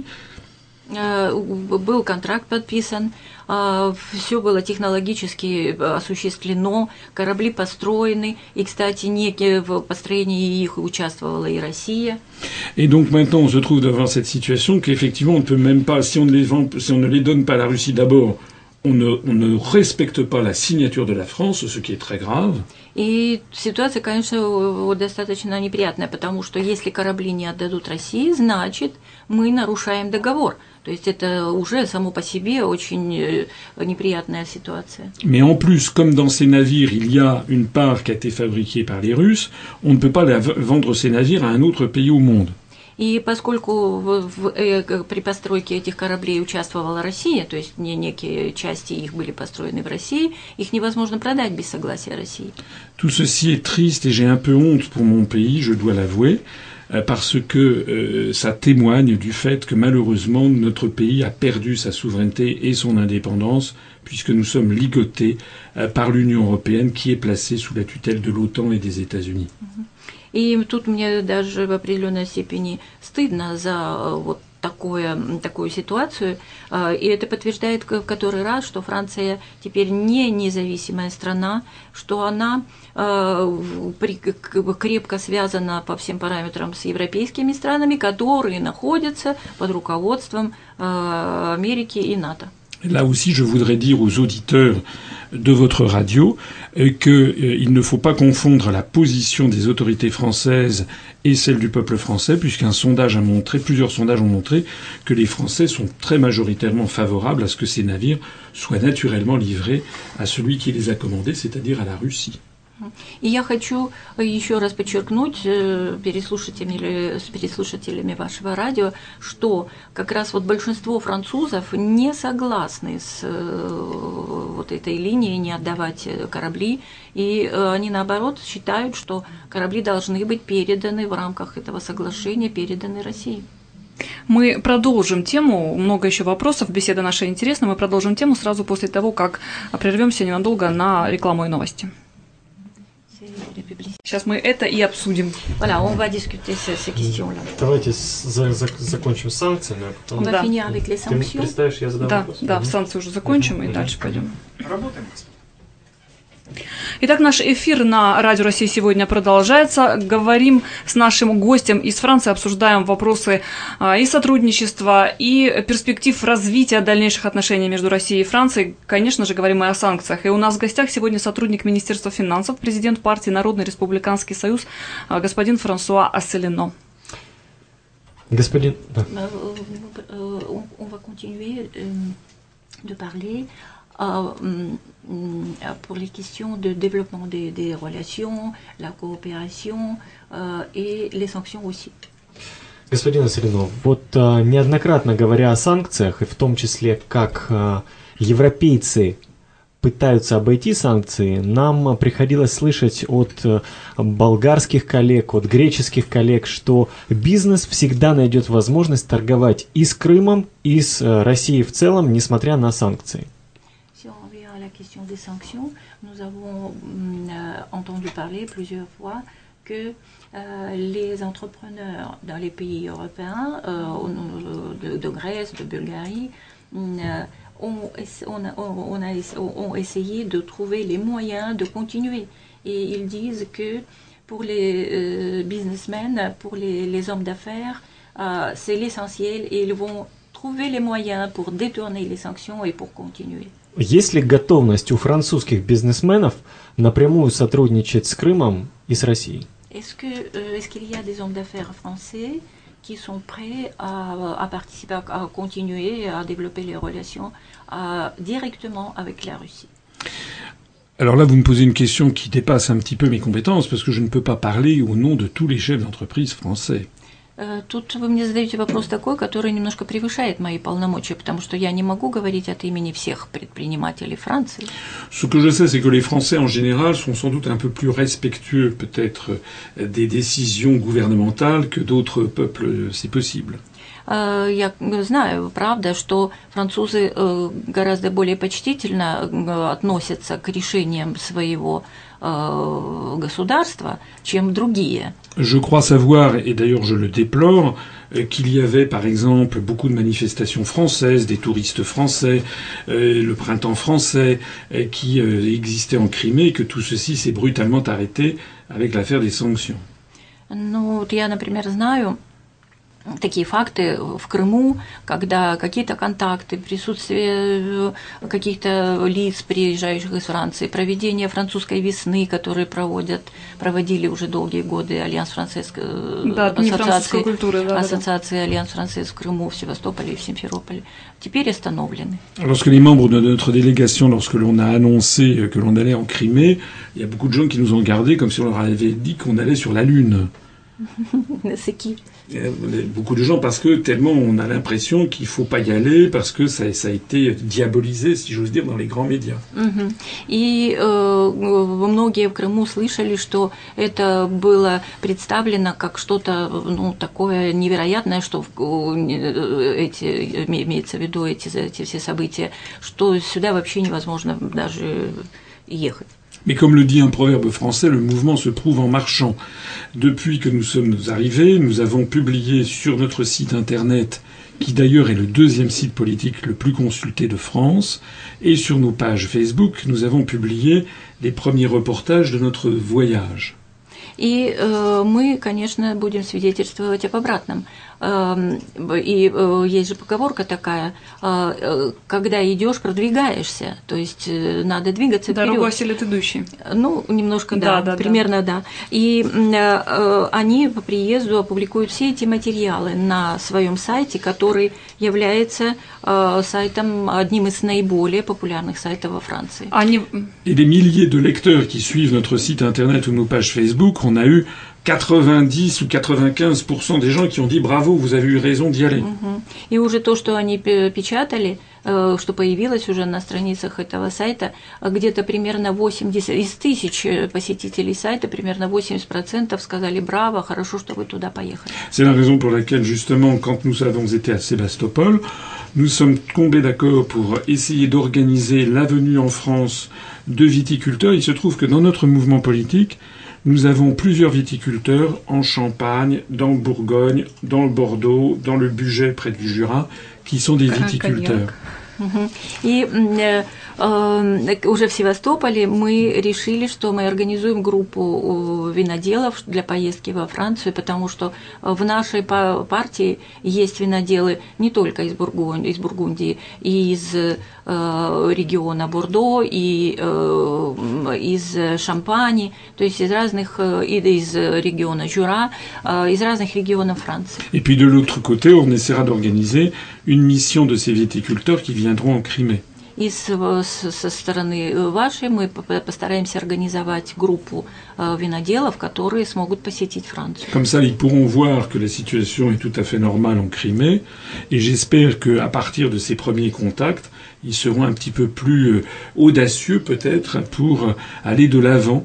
Был контракт подписан, все было технологически осуществлено, корабли построены, и, кстати, в построении их участвовала и Россия. Et donc maintenant, on se trouve devant cette situation qu'effectivement, on ne peut même pas, si on ne les donne pas à la Russie d'abord, on ne respecte pas la signature de la France, ce qui est très grave. И ситуация, конечно, достаточно неприятная, потому что если корабли не отдадут России, значит, мы нарушаем договор. То есть это уже само по себе очень неприятная ситуация. Mais en plus, comme dans ces navires, il y a une part qui a été fabriquée par les Russes, on ne peut pas vendre ces navires à un autre pays au monde. И поскольку при постройке этих кораблей участвовала Россия, то есть некие части их были построены в России, их невозможно продать без согласия России. Tout ceci est triste et j'ai un peu honte pour mon pays, je dois l'avouer, parce que ça témoigne du fait que malheureusement notre pays a perdu sa souveraineté et son indépendance puisque nous sommes ligotés par l'Union européenne qui est placée sous la tutelle de l'OTAN et des États-Unis. И тут мне даже в определенной степени стыдно за вот такую ситуацию, и это подтверждает в который раз, что Франция теперь не независимая страна, что она крепко связана по всем параметрам с европейскими странами, которые находятся под руководством Америки и НАТО. Là aussi, je voudrais dire aux auditeurs de votre radio qu'il ne faut pas confondre la position des autorités françaises et celle du peuple français, puisqu'un sondage a montré, plusieurs sondages ont montré que les Français sont très majoritairement favorables à ce que ces navires soient naturellement livrés à celui qui les a commandés, c'est-à-dire à la Russie. И я хочу еще раз подчеркнуть с переслушателями вашего радио, что как раз вот большинство французов не согласны с вот этой линией не отдавать корабли, и они наоборот считают, что корабли должны быть переданы в рамках этого соглашения, переданы России. Мы продолжим тему, много еще вопросов, беседа наша интересная, мы продолжим тему сразу после того, как прервемся ненадолго на рекламу и новости. Сейчас мы это и обсудим. Voilà, on va discuter ces questions-là. Давайте закончим с санкциями, а потом... On va finir avec les sanctions. Ты представишь, я задам вопрос? Да, санкции уже закончим и дальше пойдем. Работаем. Итак, наш эфир на Радио России сегодня продолжается. Говорим с нашим гостем из Франции, обсуждаем вопросы и сотрудничества, и перспектив развития дальнейших отношений между Россией и Францией. Конечно же, говорим и о санкциях. И у нас в гостях сегодня сотрудник Министерства финансов, президент партии Народный республиканский союз, господин Франсуа Асселино. Господин... On va continuer de parler pour les questions de développement des relations, la coopération et les sanctions aussi. Господин Асселино, вот неоднократно говоря о санкциях, и в том числе как европейцы пытаются обойти санкции, нам приходилось слышать от болгарских коллег, от греческих коллег, что бизнес всегда найдет возможность торговать и с Крымом, и с Россией в целом, несмотря на санкции. Si on revient à la question des sanctions, nous avons entendu parler plusieurs fois que les entrepreneurs dans les pays européens, de Grèce, de Bulgarie, ont essayé de trouver les moyens de continuer. Et ils disent que pour les businessmen, pour les hommes d'affaires, c'est l'essentiel et ils vont trouver les moyens pour détourner les sanctions et pour continuer. Есть ли готовность у французских бизнесменов напрямую сотрудничать с Крымом и с Россией? Est-ce qu'il y a des hommes d'affaires français qui sont prêts à participer, à continuer à développer les relations directement avec la Russie? Alors là, vous me posez une question qui dépasse un petit peu mes compétences, parce que je ne peux pas parler au nom de tous les chefs d'entreprise français. Тут вы мне задаете вопрос такой, который немножко превышает мои полномочия, потому что я не могу говорить от имени всех предпринимателей Франции. Ce que je sais, c'est que les Français en général sont sans doute un peu plus respectueux, peut-être, des décisions gouvernementales que d'autres peuples, c'est possible. Я знаю, правда, что французы гораздо более почтительно относятся к решениям своего государства, чем другие. Je crois savoir, et d'ailleurs je le déplore, qu'il y avait par exemple beaucoup de manifestations françaises, des touristes français, le printemps français qui existait en Crimée, et que tout ceci s'est brutalement arrêté avec l'affaire des sanctions. Ну, вот я, например, знаю такие факты в Крыму, когда какие-то контакты, присутствие каких-то лиц, приезжающих из Франции, проведение французской весны, которые проводили уже долгие годы Альянс Францез, ассоциации Альянс Францез в Крыму, в Севастополе и в Симферополе, теперь остановлены. Lorsque les membres de notre délégation, lorsque l'on a annoncé que l'on allait en Crimée, il y a beaucoup de gens qui nous ont gardés comme si on leur avait dit qu'on allait sur la Lune. C'est qui? Beaucoup de gens, parce que tellement on a l'impression qu'il ne faut pas y aller, parce que ça a été diabolisé, si j'ose dire, dans les grands médias. И многие в Крыму слышали, что это было представлено как что-то такое невероятное, что имеется в виду эти все события, что сюда вообще невозможно даже ехать. Mais comme le dit un proverbe français, le mouvement se prouve en marchant. Depuis que nous sommes arrivés, nous avons publié sur notre site internet, qui d'ailleurs est le deuxième site politique le plus consulté de France, et sur nos pages Facebook, nous avons publié les premiers reportages de notre voyage. И мы, конечно, будем свидетельствовать об обратном. И есть же поговорка такая, когда идешь, продвигаешься, то есть надо двигаться вперед. Дорогу осилит идущий. Ну, немножко, да, примерно, да. И они по приезду опубликуют все эти материалы на своем сайте, который является сайтом, одним из наиболее популярных сайтов во Франции. Et des milliers de lecteurs qui suivent notre site internet ou nos pages Facebook, on a eu 90 ou 95% des gens qui ont dit bravo, vous avez eu raison d'y aller. И уже то, что они печатали, что появилось уже на страницах этого сайта, где-то примерно 80 из 1000 посетителей сайта, примерно 80% сказали браво, хорошо, что вы туда поехали. C'est la raison pour laquelle justement, quand nous avons été à Sébastopol, nous sommes tombés d'accord pour essayer d'organiser la venue en France de viticulteurs. Il se trouve que dans notre mouvement politique, nous avons plusieurs viticulteurs en Champagne, dans le Bourgogne, dans le Bordeaux, dans le Bugey près du Jura, qui sont des viticulteurs. И уже в Севастополе мы решили, что мы организуем группу виноделов для поездки во Францию, потому что в нашей партии есть виноделы не только из Бургундии, и из региона Бордо, и из Шампани, то есть из разных, из региона Жюра, из разных регионов Франции. Et puis de l'autre côté, on essaiera d'organiser une mission de ces viticulteurs qui viendront en Crimée. И со стороны вашей мы постараемся организовать группу виноделов, которые смогут посетить Францию. Comme ça, ils pourront voir que la situation est tout à fait normale en Crimée. Et j'espère qu'à partir de ces premiers contacts, ils seront un petit peu plus audacieux peut-être pour aller de l'avant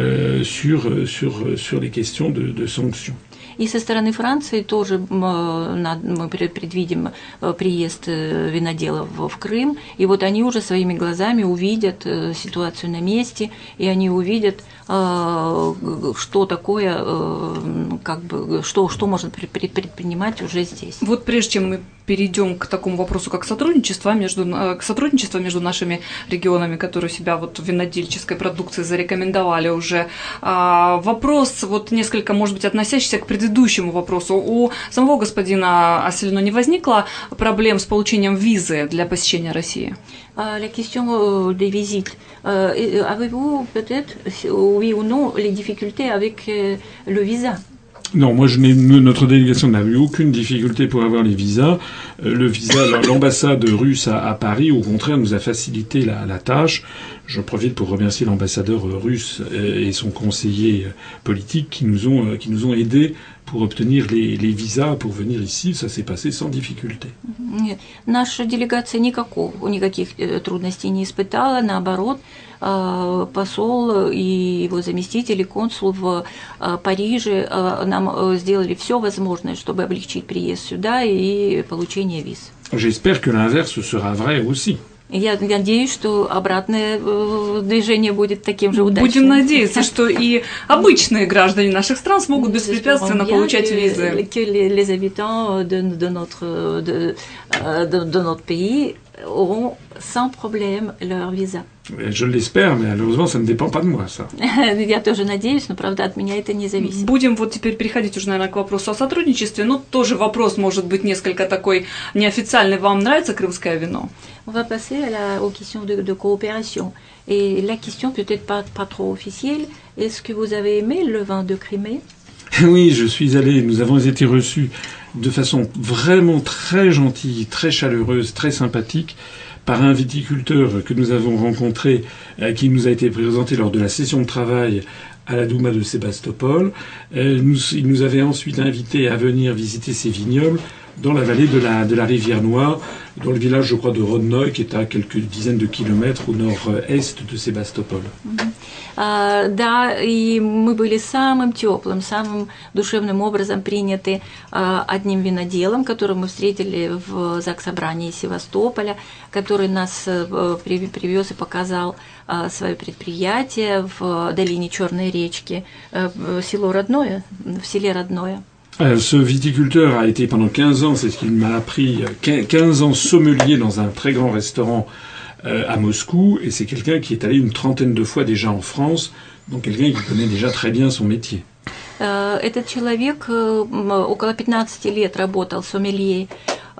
sur les questions de sanctions. И со стороны Франции тоже мы предвидим приезд виноделов в Крым, и вот они уже своими глазами увидят ситуацию на месте, и они увидят, что такое, как бы, что можно предпринимать уже здесь. Вот прежде чем мы перейдем к такому вопросу, как сотрудничество между нашими регионами, которые себя вот в винодельческой продукции зарекомендовали уже, вопрос вот несколько, может быть, относящийся к предыдущему вопросу. У самого господина Asselineau не возникло проблем с получением визы для посещения России? La question des visites. Avez-vous peut-être, oui ou non, les difficultés avec le visa? Non, notre délégation n'a eu aucune difficulté pour avoir les visas. L'ambassade russe à Paris, au contraire, nous a facilité la tâche. Je profite pour remercier l'ambassadeur russe et son conseiller politique qui nous ont aidés pour obtenir les visas pour venir ici. Ça s'est passé sans difficulté. Наша делегация никаких трудностей не испытала, наоборот. Посол и его заместитель, и консул в Париже нам сделали все возможное, чтобы облегчить приезд сюда и получение виз. J'espère que l'inverse sera vrai aussi. Я надеюсь, что обратное движение будет таким же удачным. Будем надеяться, что и обычные граждане наших стран смогут беспрепятственно получать визы. Que les habitants de notre pays auront sans problème leur visa. Je l'espère, mais malheureusement, ça ne dépend pas de moi, ça. Я тоже надеюсь, но, правда, от меня это не зависит. Будем вот теперь переходить уже, наверное, к вопросу о сотрудничестве. Но тоже вопрос может быть несколько такой неофициальный. Вам нравится крымское вино? On va passer aux questions de coopération. Et la question peut-être pas trop officielle. Est-ce que vous avez aimé le vin de Crimée? Oui, je suis allé, nous avons été reçus de façon vraiment très gentille, très chaleureuse, très sympathique par un viticulteur que nous avons rencontré, qui nous a été présenté lors de la session de travail à la Douma de Sébastopol. Il nous avait ensuite invités à venir visiter ses vignobles dans la vallée de la rivière Noire, dans le village, je crois, de Rodnoï, qui est à quelques dizaines de kilomètres au nord-est de Sébastopol. Да, и мы были самым теплым, самым душевным образом приняты одним виноделом, которого мы встретили в Заксобрании Севастополя, который нас привез и показал свое предприятие в долине Черной речки, в селе Родное. Ce viticulteur a été pendant 15 ans, c'est ce qu'il m'a appris, 15 ans sommelier dans un très grand restaurant à Moscou, et c'est quelqu'un qui est allé une trentaine de fois déjà en France, donc quelqu'un qui connaît déjà très bien son métier. Этот человек около 15 лет работал сомелье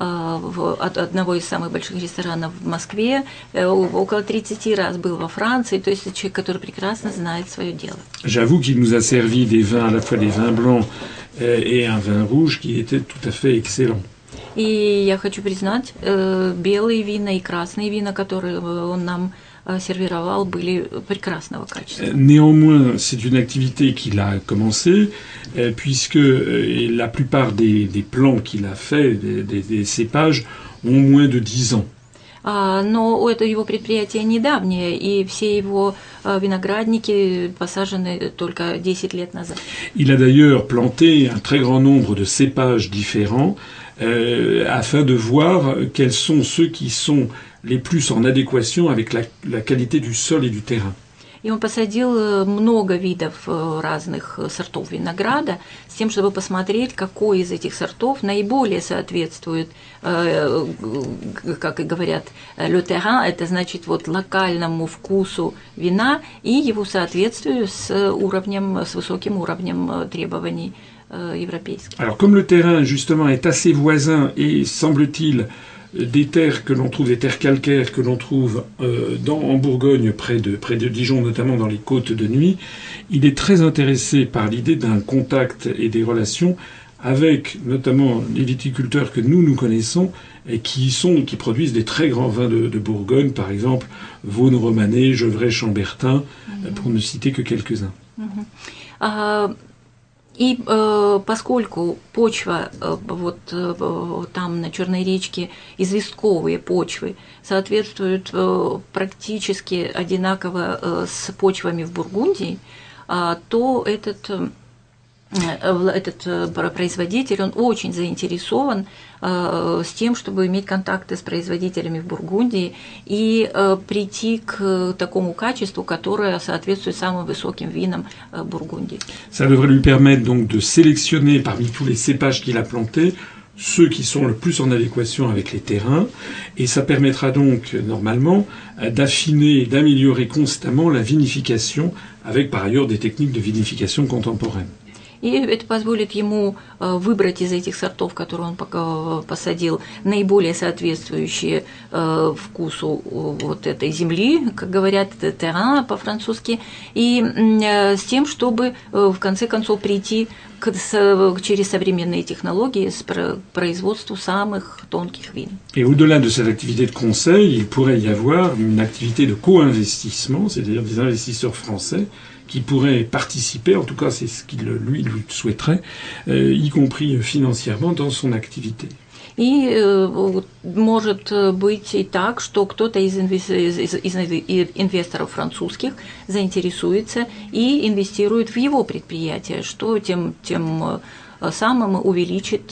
одного из самых больших ресторанов в Москве, около 30 раз был во Франции, то есть это человек, который прекрасно знает свое дело. J'avoue qu'il nous a servi des vins, à la fois des vins blancs et un vin rouge qui était tout à fait excellent. И я хочу признать, белые вина и красные вина, которые он нам сервировал, были прекрасного качества. Néanmoins, c'est une activité qu'il a commencée, puisque la plupart des plants qu'il a fait, des cépages, ont moins de 10 ans. Но это его предприятие недавнее, и все его виноградники посажены только 10 лет назад. Il a d'ailleurs planté un très grand nombre de cépages différents afin de voir quels sont ceux qui sont les plus en adéquation avec la qualité du sol et du terrain. и он посадил много видов разных сортов винограда с тем, чтобы посмотреть, какой из этих сортов наиболее соответствует, как и говорят, le terrain, это значит вот локальному вкусу вина и его соответствию с высоким уровнем требований европейских. Alors comme le terrain justement est assez voisin et semble-t-il des terres que l'on trouve, des terres calcaires que l'on trouve en Bourgogne près de Dijon, notamment dans les côtes de Nuits, il est très intéressé par l'idée d'un contact et des relations avec notamment les viticulteurs que nous connaissons et qui produisent des très grands vins de Bourgogne, par exemple Vaune-Romanée, Gevrey-Chambertin, pour ne citer que quelques-uns. И поскольку почва вот там на Черной речке, известковые почвы, соответствуют практически одинаково с почвами в Бургундии, то этот производитель, он очень заинтересован с тем, чтобы иметь контакты с производителями в Бургундии и прийти к такому качеству, которое соответствует самым высоким винам Бургундии. Ça devrait lui permettre donc de sélectionner parmi tous les cépages qu'il a plantés ceux qui sont le plus en adéquation avec les terrains, et ça permettra donc normalement d'affiner et d'améliorer constamment la vinification avec par ailleurs des techniques de vinification contemporaines. И это позволит ему выбрать из этих сортов, которые он посадил, наиболее соответствующие вкусу вот этой земли, как говорят, терраin по-французски, и с тем, чтобы в конце концов прийти через современные технологии к производству самых тонких вин. Et au-delà de cette activité de conseil, il pourrait y avoir une activité de co-investissement, c'est-à-dire des investisseurs français qui pourraient participer, en tout cas c'est ce qu'il lui souhaiterait, y compris financièrement dans son activité. И может быть и так, что кто-то из инвесторов французских заинтересуется и инвестирует в его предприятие, что тем самым увеличит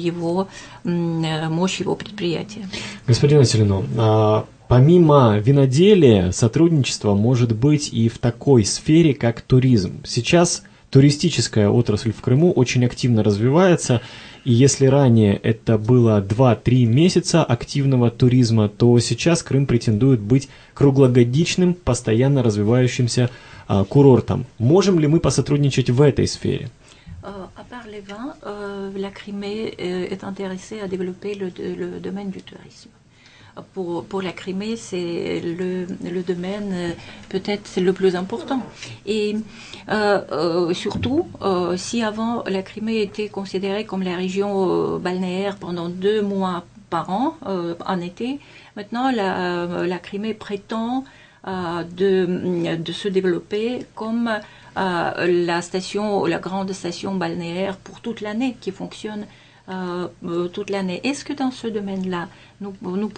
мощь его предприятия. Господин Василино, помимо виноделия, сотрудничество может быть и в такой сфере, как туризм. Сейчас туристическая отрасль в Крыму очень активно развивается, и если ранее это было 2-3 месяца активного туризма, то сейчас Крым претендует быть круглогодичным, постоянно развивающимся курортом. Можем ли мы посотрудничать в этой сфере? À part les vins, la Crimée est intéressée à développer le domaine du tourisme. Pour la Crimée, c'est le domaine peut-être le plus important. Et surtout, si avant la Crimée était considérée comme la région balnéaire pendant 2 mois par an, en été, maintenant la Crimée prétend de se développer comme la grande station balnéaire pour toute l'année qui fonctionne toute l'année. Est-ce que dans ce domaine-là, nous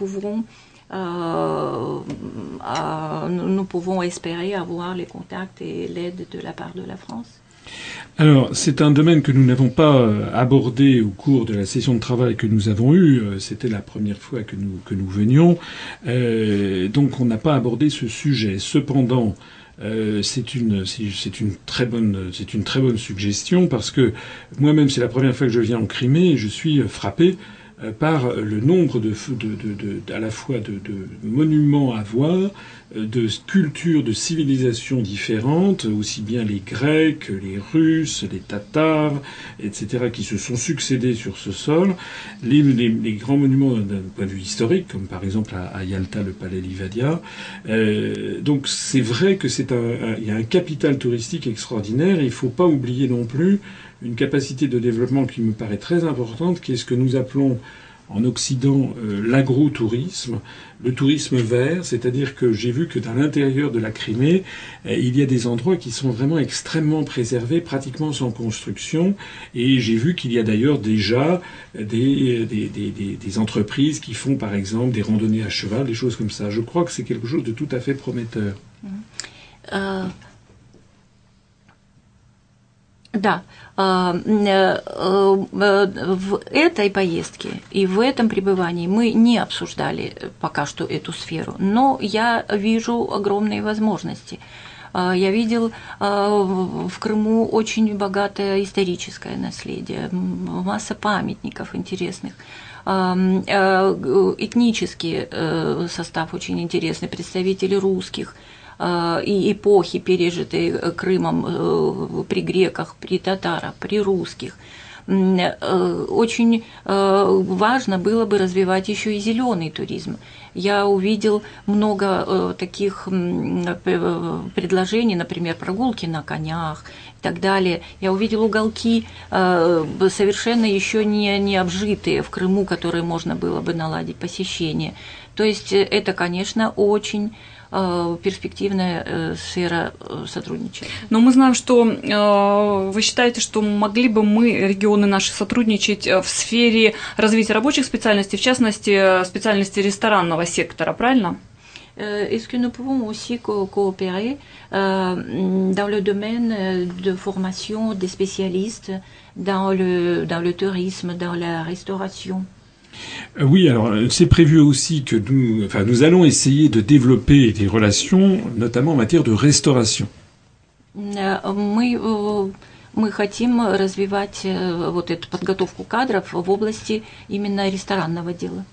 pouvons espérer avoir les contacts et l'aide de la part de la France? Alors, c'est un domaine que nous n'avons pas abordé au cours de la session de travail que nous avons eue. C'était la première fois que nous venions. Donc, on n'a pas abordé ce sujet. Cependant, c'est une très bonne suggestion parce que moi-même, c'est la première fois que je viens en Crimée et je suis frappé par le nombre à la fois de monuments à voir, de cultures, de civilisations différentes, aussi bien les Grecs, les Russes, les Tatars, etc., qui se sont succédés sur ce sol. Les grands monuments d'un point de vue historique, comme par exemple à Yalta, le palais Livadia. Donc c'est vrai que il y a un capital touristique extraordinaire et il ne faut pas oublier non plus une capacité de développement qui me paraît très importante, qui est ce que nous appelons en Occident l'agrotourisme, le tourisme vert, c'est-à-dire que j'ai vu que dans l'intérieur de la Crimée, il y a des endroits qui sont vraiment extrêmement préservés, pratiquement sans construction, et j'ai vu qu'il y a d'ailleurs déjà des entreprises qui font par exemple des randonnées à cheval, des choses comme ça. Je crois que c'est quelque chose de tout à fait prometteur. Да, в этой поездке и в этом пребывании мы не обсуждали пока что эту сферу, но я вижу огромные возможности. Я видел в Крыму очень богатое историческое наследие, масса памятников интересных. Этнический состав очень интересный, представители русских и эпохи, пережитой Крымом при греках, при татарах, при русских. Очень важно было бы развивать еще и зеленый туризм. Я увидел много таких предложений, например, прогулки на конях и так далее. Я увидел уголки совершенно еще не обжитые в Крыму, которые можно было бы наладить посещение. То есть это, конечно, очень перспективная сфера сотрудничества. Но мы знаем, что вы считаете, что могли бы мы, регионы наши, сотрудничать в сфере развития рабочих специальностей, в частности, специальности ресторанного сектора, правильно? Est-ce que nous pouvons aussi coopérer dans le domaine de formation des spécialistes dans le tourisme, dans la restauration? Oui, alors c'est prévu aussi que nous allons essayer de développer des relations, notamment en matière de restauration. Мы хотим развивать вот эту подготовку кадров в области именно ресторанного дела.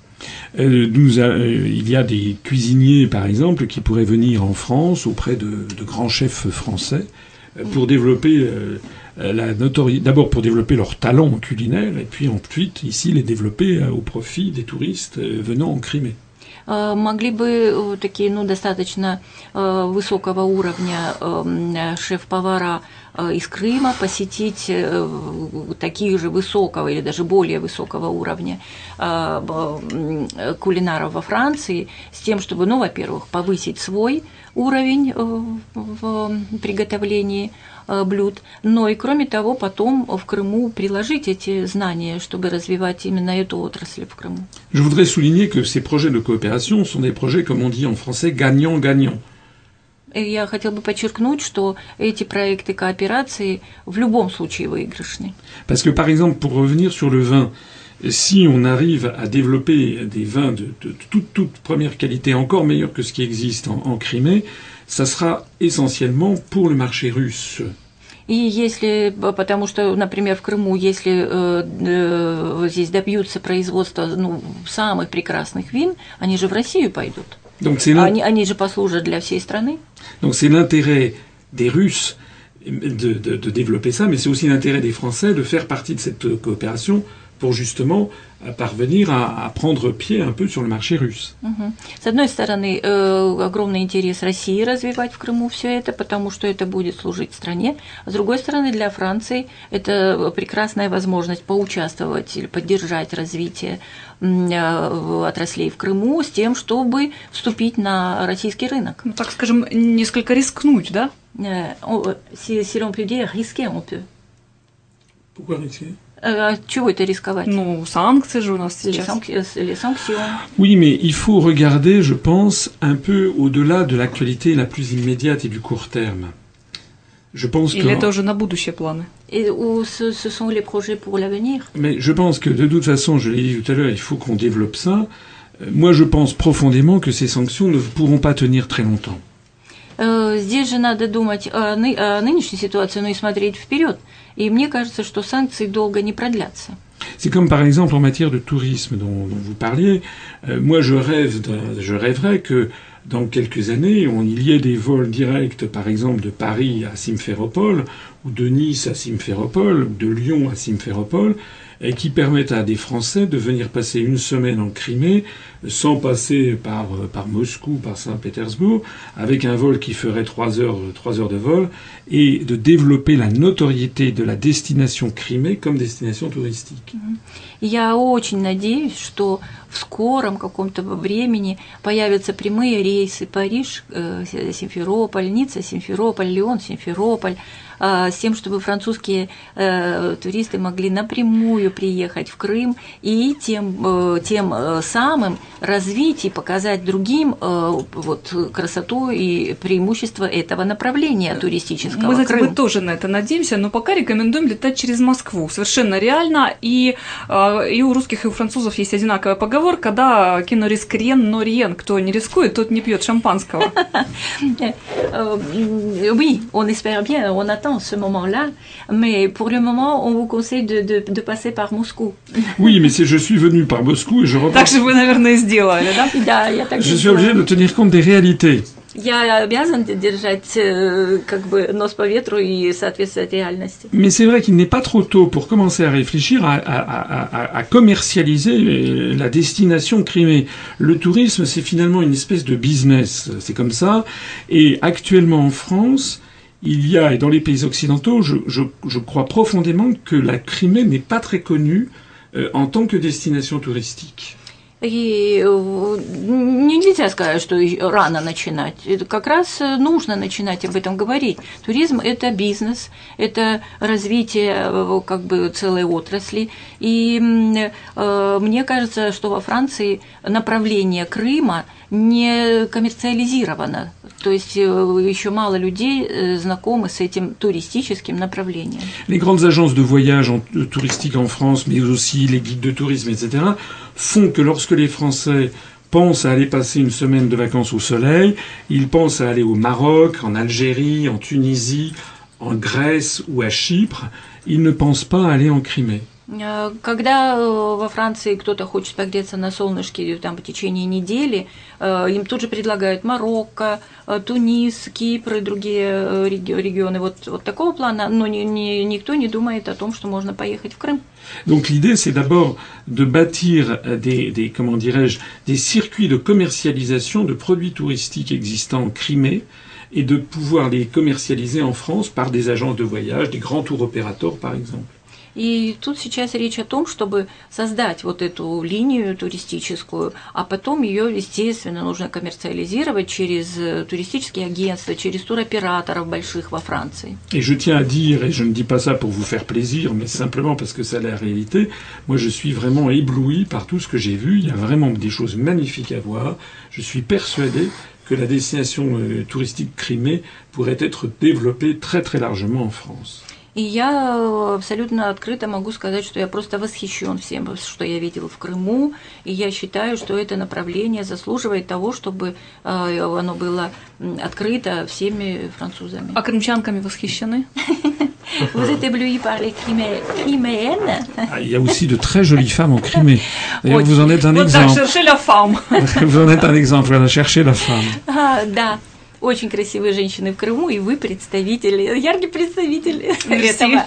Il y a des cuisiniers, par exemple, qui pourraient venir en France auprès de grands chefs français pour développer la notoriété, d'abord pour développer leur talent culinaire, et puis ensuite, ici, les développer au profit des touristes venant en Crimée. Могли бы такие, достаточно высокого уровня шеф-повара из Крыма посетить таких же высокого или даже более высокого уровня кулинаров во Франции с тем, чтобы, во-первых, повысить свой уровень в приготовлении блюд, но и, кроме того, потом в Крыму приложить эти знания, чтобы развивать именно эту отрасль в Крыму. Je voudrais souligner que ces projets de coopération sont des projets, comme on dit en français, gagnant-gagnant. Я хотел бы подчеркнуть, что эти проекты кооперации в любом случае выигрышны. Parce que, par exemple, pour revenir sur le vin, si on arrive à développer des vins de toute première qualité, encore meilleurs que ce qui existe en Crimée, ça sera essentiellement pour le marché russe. И если, потому что, например, в Крыму, если здесь добьются производства самых прекрасных вин, они же в Россию пойдут. Donc они же послужат для всей страны. Donc c'est l'intérêt des Russes de développer ça, mais c'est aussi l'intérêt des Français de faire partie de cette coopération pour justement parvenir à prendre pied un peu sur le marché russe. С одной стороны, огромный интерес России развивать в Крыму все это, потому что это будет служить стране. А с другой стороны, для Франции это прекрасная возможность поучаствовать или поддержать развитие отраслей в Крыму с тем, чтобы вступить на российский рынок. Ну, так скажем, несколько рискнуть, да? Si l'on peut dire, risquer, on peut. Pourquoi risquer? Чего это рисковать? Санкции же у нас сейчас. Les sanctions. Oui, mais il faut regarder, je pense, un peu au-delà de l'actualité la plus immédiate et du court terme. Je pense Или это уже на будущее планы? Et ce sont les projets pour l'avenir. Mais je pense que de toute façon, je l'ai dit tout à l'heure, il faut qu'on développe ça. Moi, je pense profondément que ces sanctions ne pourront pas tenir très longtemps. Здесь же надо думать о нынешней ситуации, но и смотреть вперед. И мне кажется, что санкции долго не продлятся. C'est comme par exemple en matière de tourisme dont vous parliez. Moi, je rêverais que dans quelques années, il y ait des vols directs, par exemple, de Paris à Simferopol, ou de Nice à Simferopol, ou de Lyon à Simferopol, et qui permettent à des Français de venir passer une semaine en Crimée sans passer par Moscou, par Saint-Pétersbourg, avec un vol qui ferait 3 heures de vol, et de développer la notoriété de la destination Crimée comme destination touristique. Я очень надеюсь, что в скором каком-то времени появятся прямые рейсы Париж, Симферополь, Ницца, Симферополь, Лион, Симферополь, с тем, чтобы французские туристы могли напрямую приехать в Крым и тем самым развить и показать другим вот красоту и преимущество этого направления туристического. Мы, знаете, мы тоже на это надеемся, но пока рекомендуем летать через Москву. Совершенно реально. И у русских, и у французов есть одинаковая поговорка, да, «qui ne risque rien, non rien». Кто не рискует, тот не пьет шампанского. Oui, on espère bien, on attend ce moment-là, mais pour le moment, on vous conseille de passer par Moscou. Oui, mais je suis venu par Moscou et je repars. Так же вы, наверное, и сделали, да? Да, я так Je suis obligé de tenir compte des réalités. Я обязан держать как бы нос по ветру и соответствовать реальности. Mais c'est vrai qu'il n'est pas trop tôt pour commencer à réfléchir à commercialiser la destination Crimée. Le tourisme, c'est finalement une espèce de business. C'est comme ça. Et actuellement en France, il y a, et dans les pays occidentaux, je crois profondément que la Crimée n'est pas très connue en tant que destination touristique. И нельзя сказать, что рано начинать. Это как раз нужно начинать об этом говорить. Туризм – это бизнес, это развитие как бы целой отрасли. И мне кажется, что во Франции направление Крыма не коммерциализировано. То есть еще мало людей знакомы с этим туристическим направлением. Les grandes agences de voyage touristiques en France, mais aussi les guides de tourisme, etc., font que lorsque les Français pensent à aller passer une semaine de vacances au soleil, ils pensent à aller au Maroc, en Algérie, en Tunisie, en Grèce ou à Chypre. Ils ne pensent pas à aller en Crimée. Когда во Франции кто-то хочет погреться на солнышке там, в течение недели, им тут же предлагают Марокко, Тунис, Кипр и другие регионы вот такого плана, но никто не думает о том, что можно поехать в Крым. Donc l'idée, c'est d'abord de bâtir comment dirais-je, des circuits de commercialisation de produits touristiques existants en Crimée et de pouvoir les commercialiser en France par des agences de voyage, des grands tour opérateurs par exemple. И тут сейчас речь о том, чтобы создать вот эту линию туристическую, а потом ее, естественно, нужно коммерциализировать через туристические агентства, через туроператоров больших во Франции. Et je tiens à dire, et je ne dis pas ça pour vous faire plaisir, mais simplement parce que c'est la réalité, moi je suis vraiment ébloui par tout ce que j'ai vu. Il y a vraiment des choses magnifiques à voir. Je suis persuadé que la destination touristique Crimée pourrait être développée très très largement en France. И я абсолютно открыто могу сказать, что я просто восхищен всем, что я видела в Крыму, и я считаю, что это направление заслуживает того, чтобы оно было открыто всеми французами. А крымчанками восхищены? Vous êtes éblouis par les Criméennes? Il y a aussi de très jolies femmes en Crimée. D'ailleurs, vous en êtes un exemple. Вот так, cherchez la femme. Vous en êtes un exemple, voilà, cherchez la femme. Да. Очень красивые женщины в Крыму, и вы представители, яркий представитель этого.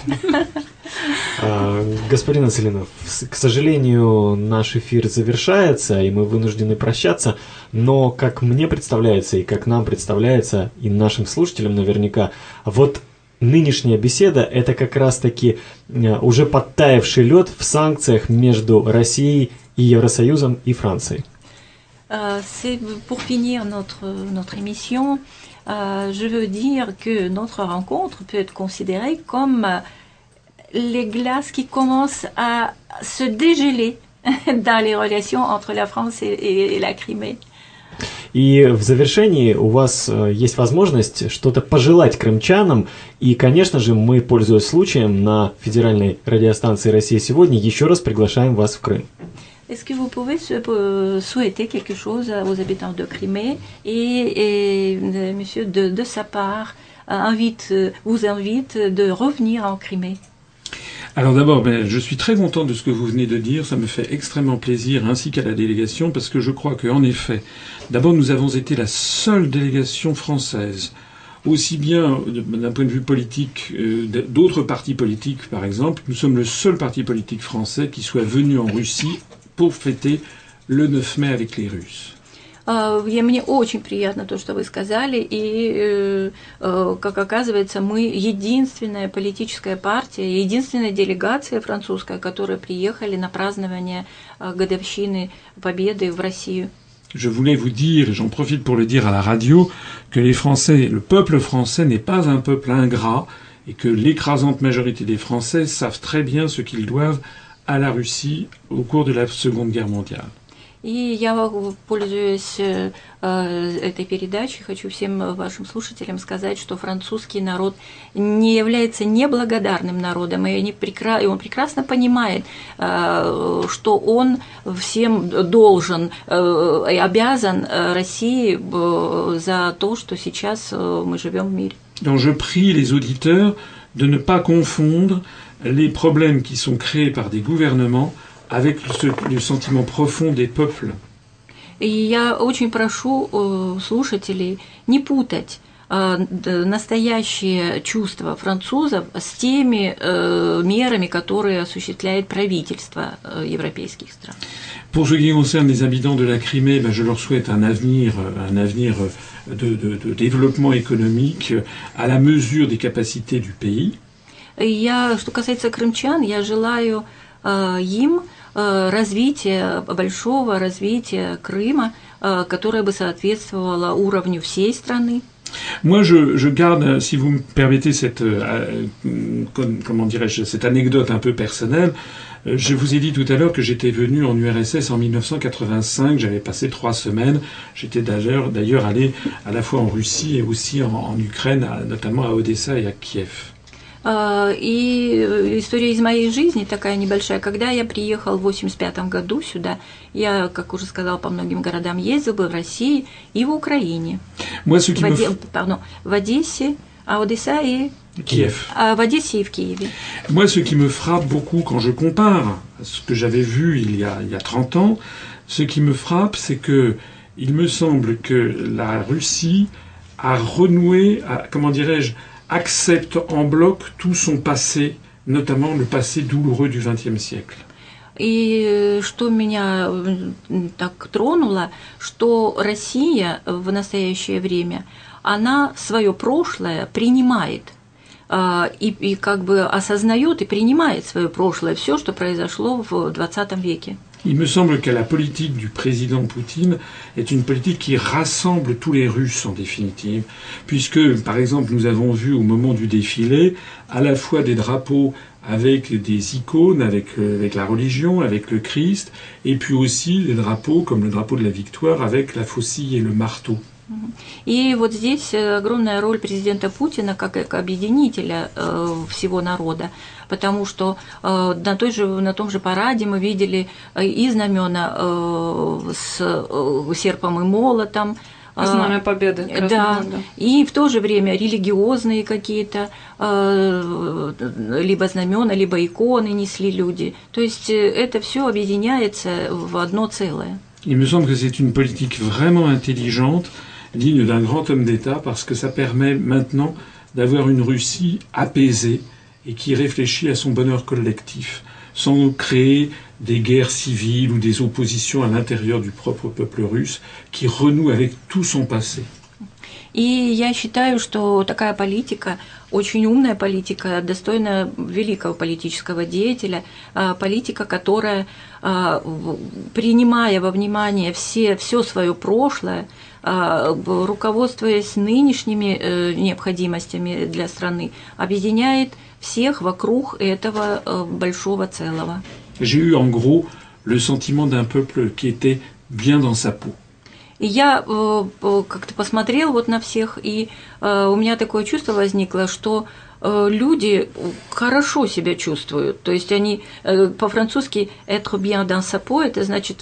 Господин Ацелинов, к сожалению, наш эфир завершается, и мы вынуждены прощаться, но, как мне представляется, и как нам представляется, и нашим слушателям наверняка, вот нынешняя беседа – это как раз-таки уже подтаявший лед в санкциях между Россией и Евросоюзом и Францией. C'est pour finir notre émission, je veux dire que notre rencontre peut être considérée comme les glaces qui commencent à se dégeler dans les relations entre la France et la Crimée. И в завершении у вас есть возможность что-то пожелать крымчанам. И, конечно же, мы, пользуясь случаем, на федеральной радиостанции «Россия сегодня» еще раз приглашаем вас в Крым. Est-ce que vous pouvez souhaiter quelque chose aux habitants de Crimée et monsieur, de sa part, vous invite de revenir en Crimée? Alors d'abord, je suis très content de ce que vous venez de dire, ça me fait extrêmement plaisir, ainsi qu'à la délégation, parce que je crois qu'en effet, d'abord nous avons été la seule délégation française, aussi bien d'un point de vue politique, d'autres partis politiques par exemple, nous sommes le seul parti politique français qui soit venu en Russie pour fêter le 9 mai avec les Russes. Мне очень приятно то, что вы сказали, и, как оказывается, мы единственная политическая партия, единственная делегация французская, которая приехали на празднование годовщины Победы в Россию. Je voulais vous dire, et j'en profite pour le dire à la radio, que les Français, le peuple français n'est pas un peuple ingrat, et que l'écrasante majorité des Français savent très bien ce qu'ils doivent à la Russie au cours de la Seconde Guerre mondiale. И я, пользуясь этой передачей, хочу всем вашим слушателям сказать, что французский народ не является неблагодарным народом, и он прекрасно понимает, что он всем должен и обязан России за то, что сейчас мы живем в мире. Donc je prie les auditeurs de ne pas confondre les problèmes qui sont créés par des gouvernements avec le sentiment profond des peuples. И я очень прошу слушателей не путать настоящие чувства французов с теми мерами, которые осуществляет правительство европейских стран. Pour ce qui concerne les habitants de la Crimée, je leur souhaite un avenir de développement économique à la mesure des capacités du pays. Что касается крымчан, я желаю им большого развития Крыма, которое бы соответствовало уровню всей страны. Moi, je garde, si vous me permettez cette anecdote un peu personnelle. Je vous ai dit tout à l'heure que j'étais venu en URSS en 1985. J'avais passé 3 semaines. J'étais d'ailleurs allé à la fois en Russie et aussi en Ukraine, notamment à Odessa et à Kiev. И история из моей жизни такая небольшая. Когда я приехал в 1985 году сюда, я, как уже сказала, по многим городам ездил, был в России и в Украине. В Одессе, Одесса и Kiev. В Одессе и в Киеве. Moi, ce qui me frappe beaucoup quand je compare à ce que j'avais vu il y a 30 ans, ce qui me frappe, c'est que il me semble que la Russie a renoué, accepte en bloc tout son passé, notamment le passé douloureux du XXe siècle. И что меня так тронуло, что Россия в настоящее время, она свое прошлое принимает и как бы осознает и принимает свое прошлое, все, что произошло в 20 веке. Il me semble que la politique du président Poutine est une politique qui rassemble tous les Russes en définitive, puisque, par exemple, nous avons vu au moment du défilé à la fois des drapeaux avec des icônes, avec la religion, avec le Christ, et puis aussi des drapeaux comme le drapeau de la victoire avec la faucille et le marteau. И вот здесь огромная роль президента Путина как объединителя всего народа, потому что на том же параде мы видели и знамена с серпом и молотом. Знамя Победы. Да, и в то же время религиозные какие-то либо знамена, либо иконы несли люди. То есть это все объединяется в одно целое. Il me semble que c'est une politique vraiment intelligente, digne d'un grand homme d'État, parce que ça permet maintenant d'avoir une Russie apaisée et qui réfléchit à son bonheur collectif, sans créer des guerres civiles ou des oppositions à l'intérieur du propre peuple russe, qui renoue avec tout son passé. И я считаю, что такая политика, очень умная политика, достойна великого политического деятеля, политика, которая, принимая во внимание все свое прошлое, руководствуясь нынешними необходимостями для страны, объединяет всех вокруг этого большого целого. J'ai eu en gros le sentiment d'un peuple qui était bien dans sa peau. И я как-то посмотрел вот на всех, и у меня такое чувство возникло, что люди хорошо себя чувствуют. То есть они по-французски «être bien dans sa peau» – это значит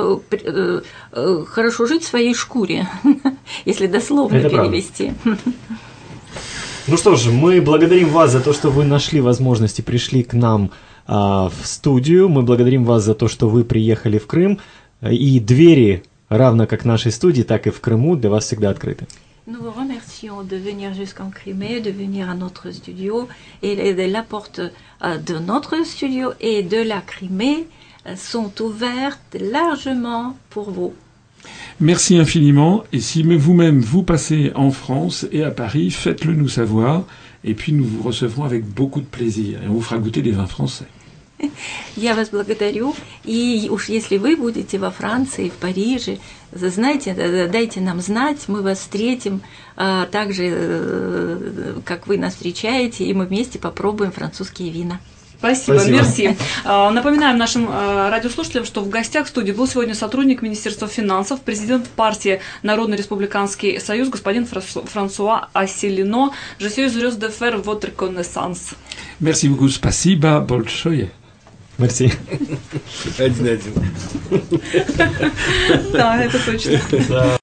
хорошо жить в своей шкуре, если дословно это перевести. Ну что ж, мы благодарим вас за то, что вы нашли возможность и пришли к нам в студию. Мы благодарим вас за то, что вы приехали в Крым. И двери, равно как нашей студии, так и в Крыму, для вас всегда открыты. Nous vous remercions de venir jusqu'en Crimée, de venir à notre studio, et la porte de notre studio et de la Crimée sont ouvertes largement pour vous. Merci infiniment, et si vous-même vous passez en France et à Paris, faites-le nous savoir, et puis nous vous recevrons avec beaucoup de plaisir, et on vous fera goûter des vins français. Я вас благодарю. И уж если вы будете во Франции, в Париже, знаете, дайте нам знать, мы вас встретим так же, как вы нас встречаете, и мы вместе попробуем французские вина. Спасибо, мерси. Напоминаем нашим радиослушателям, что в гостях в студии был сегодня сотрудник Министерства финансов, президент партии Народный республиканский союз, господин Франсуа Ассилино. Je suis heureuse de faire votre connaissance. Merci beaucoup, спасибо большое. Мерси. 1-1. Да, это точно.